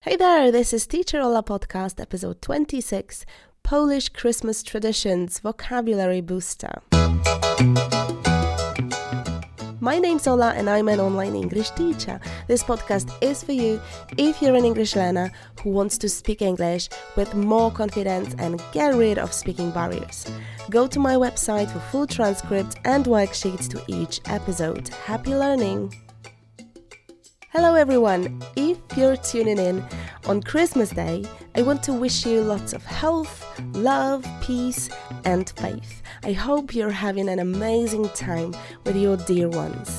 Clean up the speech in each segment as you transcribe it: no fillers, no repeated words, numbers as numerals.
Hey there, this is Teacher Ola Podcast, episode 26, Polish Christmas Traditions Vocabulary Booster. My name's Ola and I'm an online English teacher. This podcast is for you if you're an English learner who wants to speak English with more confidence and get rid of speaking barriers. Go to my website for full transcript and worksheets to each episode. Happy learning! Hello everyone! If you're tuning in on Christmas Day, I want to wish you lots of health, love, peace and faith. I hope you're having an amazing time with your dear ones.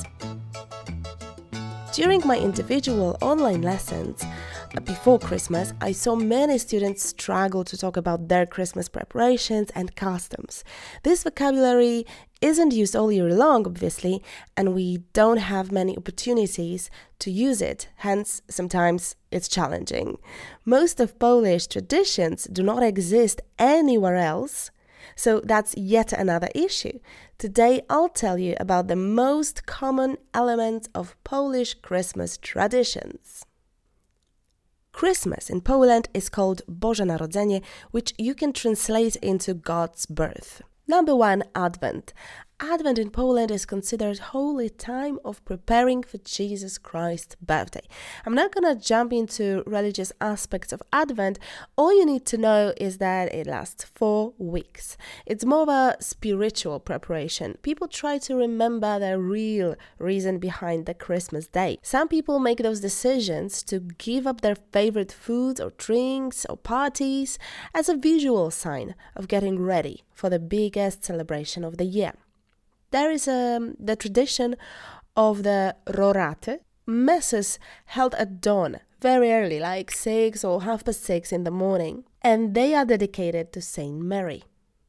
During my individual online lessons before Christmas, I saw many students struggle to talk about their Christmas preparations and customs. This vocabulary isn't used all year long, obviously, and we don't have many opportunities to use it, hence sometimes it's challenging. Most of Polish traditions do not exist anywhere else, so that's yet another issue. Today I'll tell you about the most common elements of Polish Christmas traditions. Christmas in Poland is called Boże Narodzenie, which you can translate into God's birth. Number 1, Advent. Advent in Poland is considered holy time of preparing for Jesus Christ's birthday. I'm not going to jump into religious aspects of Advent. All you need to know is that it lasts 4 weeks. It's more of a spiritual preparation. People try to remember the real reason behind the Christmas day. Some people make those decisions to give up their favorite foods or drinks or parties as a visual sign of getting ready for the biggest celebration of the year. There is the tradition of the roraty, messes held at dawn, very early, like 6 or 6:30 in the morning, and they are dedicated to Saint Mary.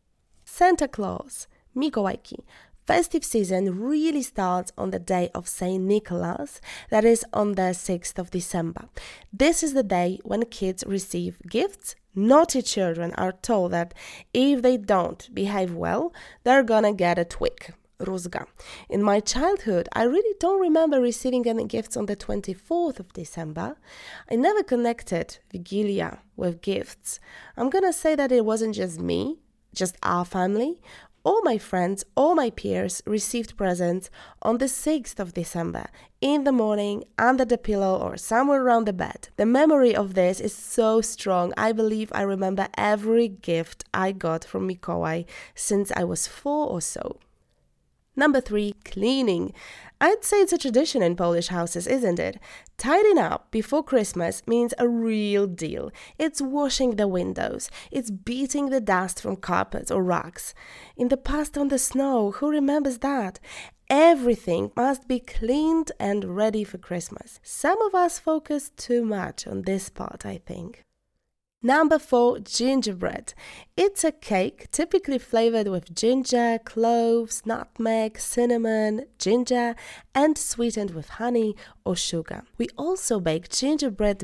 Santa Claus, Mikołajki. Festive season really starts on the day of Saint Nicholas, that is on the 6th of December. This is the day when kids receive gifts. Naughty children are told that if they don't behave well, they're gonna get a twig. Rózga. In my childhood, I really don't remember receiving any gifts on the 24th of December. I never connected Wigilia with gifts. I'm gonna say that it wasn't just me, just our family. All my friends, all my peers received presents on the 6th of December, in the morning, under the pillow or somewhere around the bed. The memory of this is so strong. I believe I remember every gift I got from Mikołaj since I was 4 or so. Number 3, cleaning. I'd say it's a tradition in Polish houses, isn't it? Tidying up before Christmas means a real deal. It's washing the windows. It's beating the dust from carpets or rugs. In the past on the snow, who remembers that? Everything must be cleaned and ready for Christmas. Some of us focus too much on this part, I think. Number 4, gingerbread. It's a cake typically flavored with ginger, cloves, nutmeg, cinnamon, ginger, and sweetened with honey or sugar. We also bake gingerbread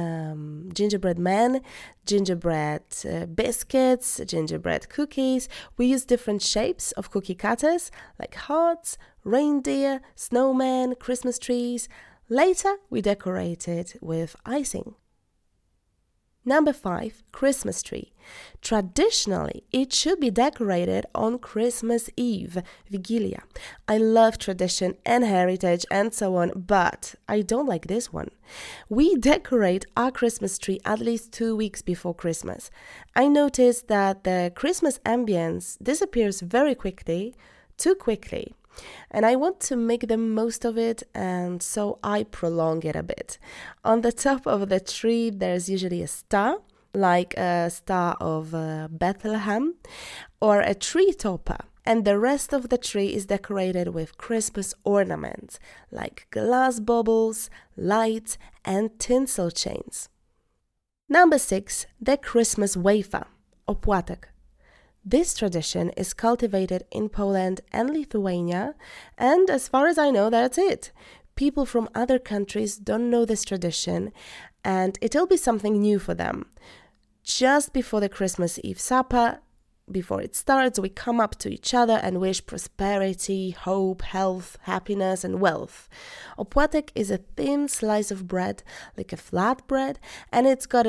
men, gingerbread biscuits, gingerbread cookies. We use different shapes of cookie cutters like hearts, reindeer, snowmen, Christmas trees. Later, we decorate it with icing. Number 5, Christmas tree. Traditionally, it should be decorated on Christmas Eve, Wigilia. I love tradition and heritage and so on, but I don't like this one. We decorate our Christmas tree at least 2 weeks before Christmas. I noticed that the Christmas ambience disappears very quickly, too quickly. And I want to make the most of it, and so I prolong it a bit. On the top of the tree, there's usually a star, like a star of Bethlehem, or a tree topper. And the rest of the tree is decorated with Christmas ornaments, like glass baubles, lights, and tinsel chains. Number 6, the Christmas wafer, opłatek. This tradition is cultivated in Poland and Lithuania, and as far as I know, that's it. People from other countries don't know this tradition, and it'll be something new for them. Just before the Christmas Eve supper, before it starts, we come up to each other and wish prosperity, hope, health, happiness, and wealth. Opłatek is a thin slice of bread, like a flat bread, and it's got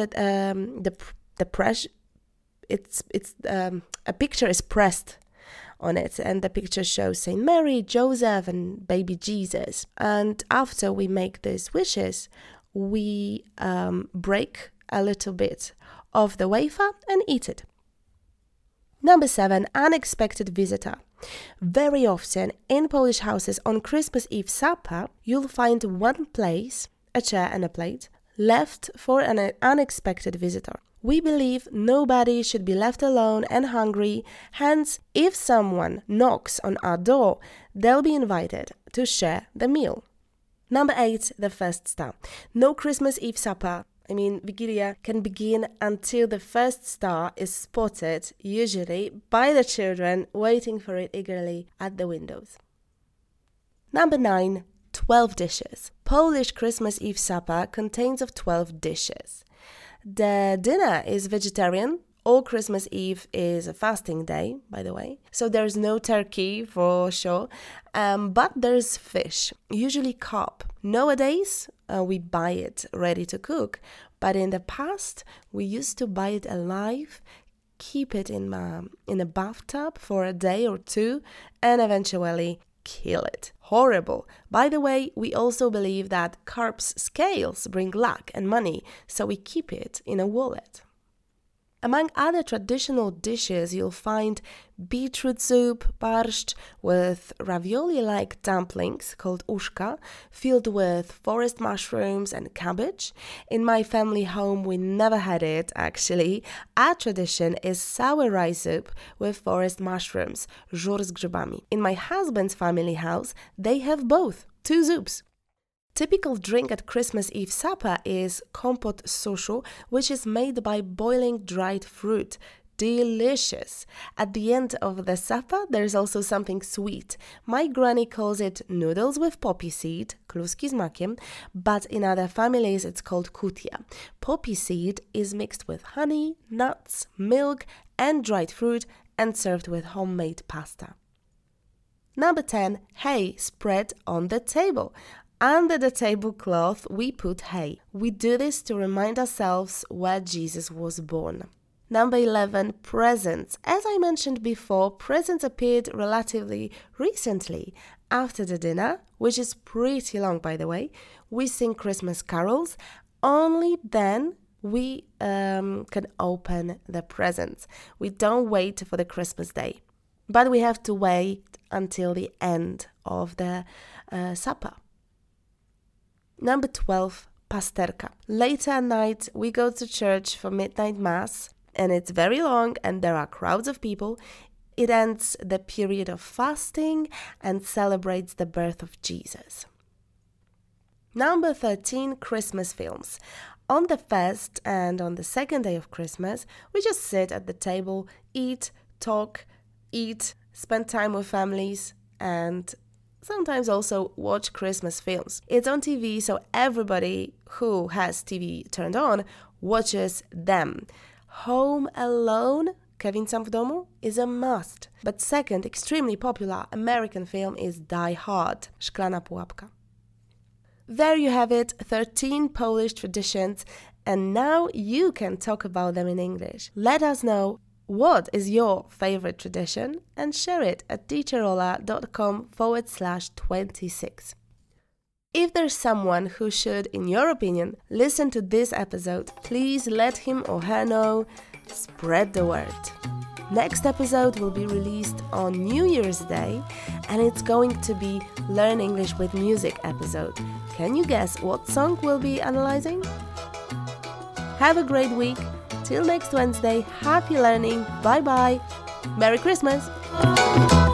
a picture is pressed on it, and the picture shows Saint Mary, Joseph, and baby Jesus. And after we make these wishes, we break a little bit of the wafer and eat it. Number 7, unexpected visitor. Very often in Polish houses on Christmas Eve supper, you'll find one place, a chair and a plate, left for an unexpected visitor. We believe nobody should be left alone and hungry, hence if someone knocks on our door, they'll be invited to share the meal. Number 8, the first star. No Christmas Eve supper, Vigilia, can begin until the first star is spotted, usually by the children waiting for it eagerly at the windows. Number 9, 12 dishes. Polish Christmas Eve supper contains of 12 dishes. The dinner is vegetarian. All Christmas Eve is a fasting day, by the way. So there's no turkey for sure, but there's fish, usually carp. Nowadays, we buy it ready to cook, but in the past, we used to buy it alive, keep it in a bathtub for a day or two, and eventually kill it. Horrible. By the way, we also believe that carp's scales bring luck and money, so we keep it in a wallet. Among other traditional dishes, you'll find beetroot soup, borscht, with ravioli-like dumplings called uszka, filled with forest mushrooms and cabbage. In my family home, we never had it, actually. Our tradition is sour rice soup with forest mushrooms, żur z grzybami. In my husband's family house, they have both, 2 soups. Typical drink at Christmas Eve supper is kompot z suszu, which is made by boiling dried fruit. Delicious. At the end of the supper, there's also something sweet. My granny calls it noodles with poppy seed, kluski z makiem, but in other families it's called kutia. Poppy seed is mixed with honey, nuts, milk, and dried fruit and served with homemade pasta. Number 10, hay spread on the table. Under the tablecloth, we put hay. We do this to remind ourselves where Jesus was born. Number 11, presents. As I mentioned before, presents appeared relatively recently. After the dinner, which is pretty long by the way, we sing Christmas carols. Only then we can open the presents. We don't wait for the Christmas day, but we have to wait until the end of the supper. Number 12, pasterka. Later at night, we go to church for midnight mass, and it's very long and there are crowds of people. It ends the period of fasting and celebrates the birth of Jesus. Number 13, Christmas films. On the first and on the second day of Christmas, we just sit at the table, eat, talk, spend time with families, and sometimes also watch Christmas films. It's on TV, so everybody who has TV turned on watches them. Home Alone, Kevin Sam w domu, is a must. But second, extremely popular American film is Die Hard, Szklana pułapka. There you have it, 13 Polish traditions, and now you can talk about them in English. Let us know what is your favorite tradition and share it at teacherola.com/26. If there's someone who should, in your opinion, listen to this episode, please let him or her know. Spread the word. Next episode will be released on New Year's Day, and it's going to be Learn English with Music episode. Can you guess what song we'll be analyzing? Have a great week. Till next Wednesday, happy learning. Bye bye. Merry Christmas.